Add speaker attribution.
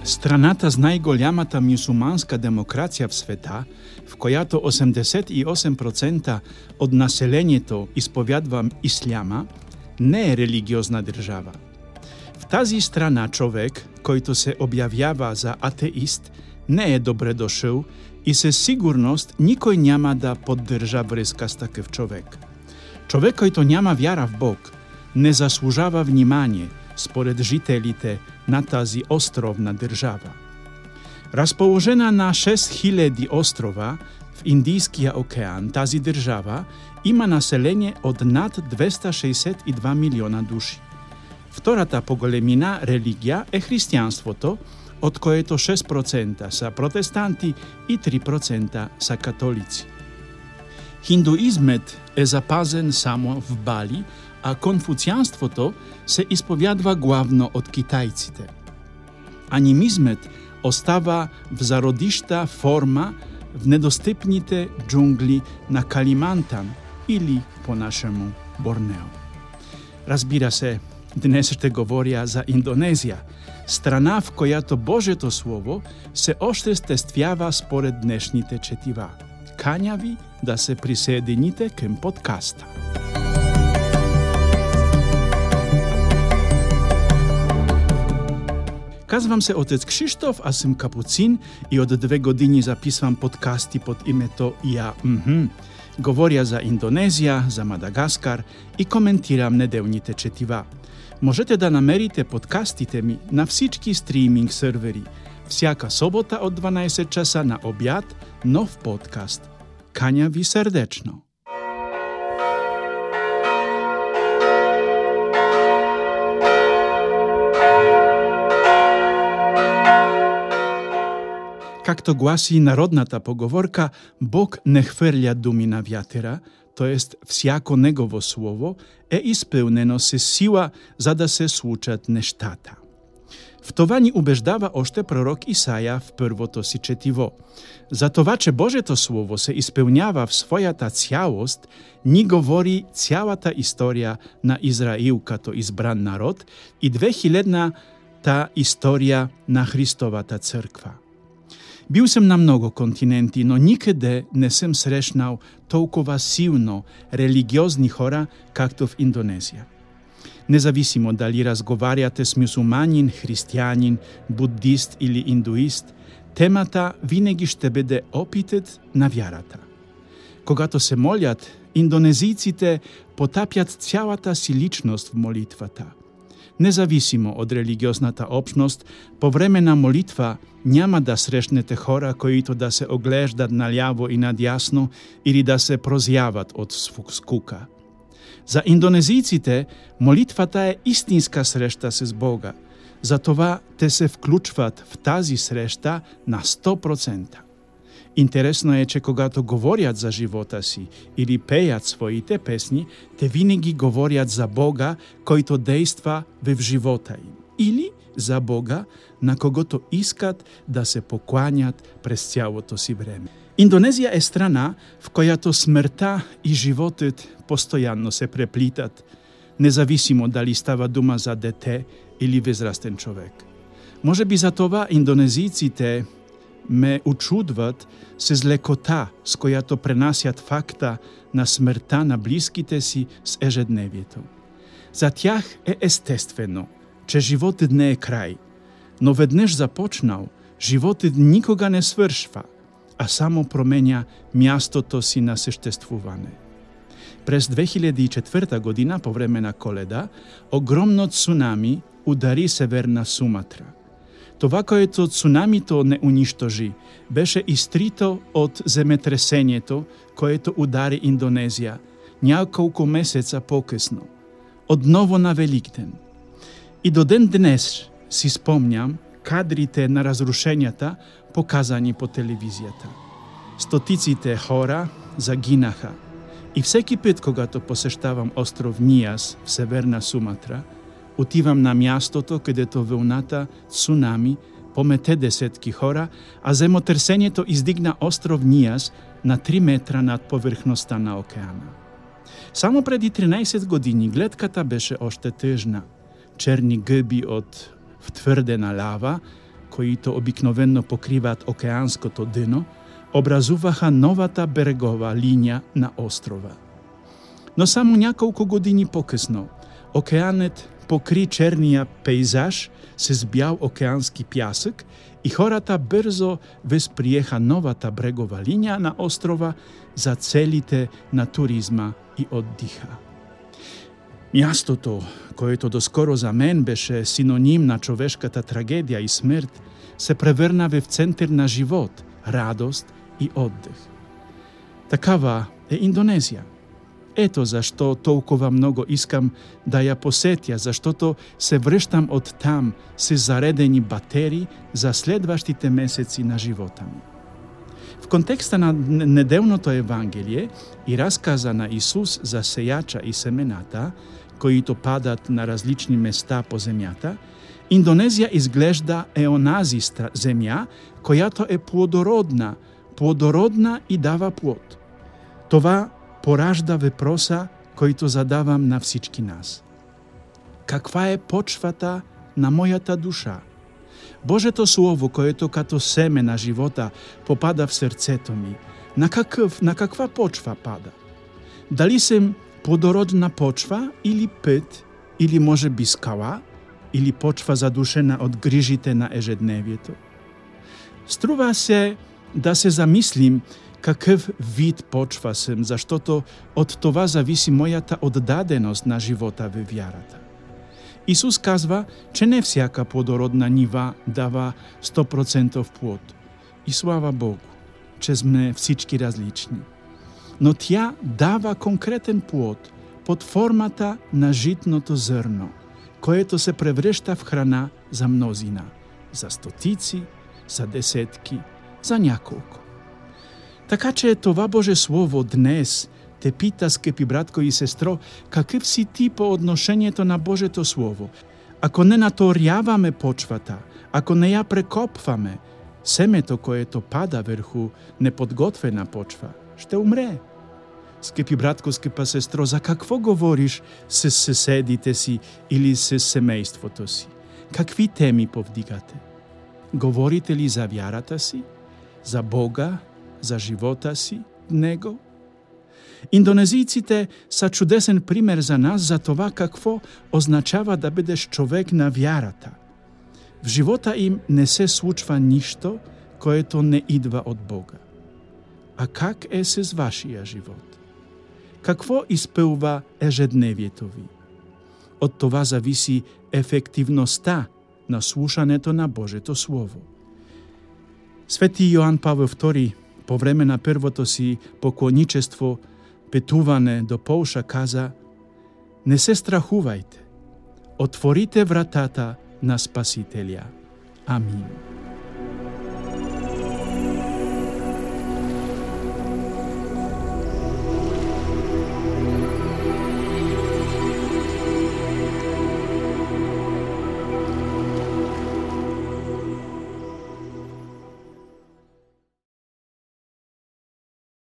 Speaker 1: Страната с най-голямата мюсюлманска демокрация в света, в която 88% от населението изповядва исляма, не е религиозна държава. В тази страна човек, който се обявява за атеист, не е добре дошъл и със сигурност никой няма да поддържа връзка с такъв човек. Човек, който няма вяра в Бог, не заслужава внимание според жителите на тази островна държава. Разположена на 6000 острова в Индийския океан, тази държава има население от над 262 милиона души. Втората по големина религия е християнството, от което 6% са протестанти и 3% са католици. Хиндуизмът е запазен само в Бали, а конфуцианството се изповядва главно от китайците. Анимизмът остава в зародища форма в недостъпните джунгли на Калимантан или по-нашему Борнео. Разбира се, днес ще говоря за Индонезия, страна, в която Божието Слово се осъществява според днешните четива. Каня ви да се присъедините към подкаста. Казвам се отец Кшиштоф, аз съм капуцин и от 2 години записвам подкасти под името Я. Говоря за Индонезия, за Мадагаскар и коментирам неделните четива. Можете да намерите подкастите ми на всички стриминг сървъри. Всяка събота от 12 часа на обяд, нов подкаст. Каня ви сърдечно! Както гласи народната поговорка, Бог не хвърля думи на вятъра, т.е. всяко Негово слово е изпълнено с сила, за да се случат нещата. В това ни убеждава още пророк Исаия в първото си четиво. За това, че Божието Слово се изпълнява в своята цялост, ни говори цялата история на Израил като избран народ и 2000-та история на Христовата църква. Бил съм на много континенти, но никъде не съм срещнал толкова силно религиозни хора, както в Индонезия. Независимо дали разговаряте с мюсюлманин, християнин, буддист или индуист, темата винаги ще бъде опитът на вярата. Когато се молят, индонезийците потапят цялата си личност в молитвата. Независимо от религиозната общност, по време на молитва няма да срещнете хора, които да се оглеждат наляво и надясно или да се прозяват от скука. За индонезийците молитвата е истинска среща с Бога. Затова те се включват в тази среща на 100%. Интересно е, че когато говорят за живота си или пеят своите песни, те винаги говорят за Бога, който действа в живота им. Или за Бога, на когото искат да се покланят през цялото си време. Индонезия е страна, в която смъртта и животът постоянно се преплитат, независимо дали става дума за дете или възрастен човек. Може би за това индонезийците ме учудват с лекота, с която пренасят факта на смъртта на близките си с ежедневието. За тях е естествено, че животът не е край, но веднъж започнал, животът никога не свършва, а само променя мястото си на съществуване. През 2004 година, по време на Коледа, огромно цунами удари Северна Суматра. Това, което цунамито не унищожи, беше изтрито от земетресението, което удари Индонезия няколко месеца по-късно, отново на Великден. И до ден днес си спомням кадрите на разрушенията, показани по телевизията. Стотиците хора загинаха. И всеки път, когато посещавам остров Ниас в Северна Суматра, отивам на мястото, където вълната цунами помете десетки хора, а земетресението издигна остров Ниас на 3 метра над повърхността на океана. Само преди 13 години гледката беше още тъжна. Черни гъби от втвърдена лава, които обикновено покриват океанското дъно, образуваха новата берегова линия на острова. Но само няколко години по-късно океанът покри черния пейзаж с бял океански пясък и хората бързо възприеха новата брегова линия на острова за целите на туризма и отдиха. Мястото, което доскоро за мен беше синоним на човешката трагедия и смърт, се превърна в център на живот, радост и отдих. Такава е Индонезия. Ето защо толкова много искам да я посетя, защото се връщам оттам с заредени батерии за следващите месеци на живота ми. В контекста на неделното Евангелие и разказа на Исус за сеяча и семената, които падат на различни места по земята, Индонезия изглежда онази земя, която е плодородна и дава плод. Това поражда въпроса, който задавам на всички нас. Каква е почвата на моята душа? Божието Слово, което като семе на живота попада в сърцето ми, на каква почва пада? Дали съм плодородна почва или път, или може би скала, или почва задушена от грижите на ежедневието? Струва се да се замислим какъв вид почва съм, защото от това зависи моята отдаденост на живота във вярата. Исус казва, че не всяка плодородна нива дава 100% плод. И слава Богу, че сме всички различни. Но тя дава конкретен плод под формата на житното зърно, което се превръща в храна за мнозина, за стотици, за десетки, за няколко. Така че това Божие Слово днес те пита, скъпи братко и сестро, какъв си ти по отношението на Божието Слово? Ако не наторяваме почвата, ако не я прекопваме, семето, което пада върху неподготвена почва, ще умре. Скъпи братко, скъпа сестро, за какво говориш с съседите си или с семейството си? Какви теми повдигате? Говорите ли за вярата си, за Бога, за живота си в Него? Индонезийците са чудесен пример за нас за това какво означава да бъдеш човек на вярата. В живота им не се случва нищо, което не идва от Бога. А как е с вашия живот? Какво изпълва ежедневието ви? От това зависи ефективността на слушането на Божието Слово. Свети Йоан Павел II по време на първото си поклонничество, пътуване до Полша, каза: не се страхувайте, отворите вратата на Спасителя. Амин.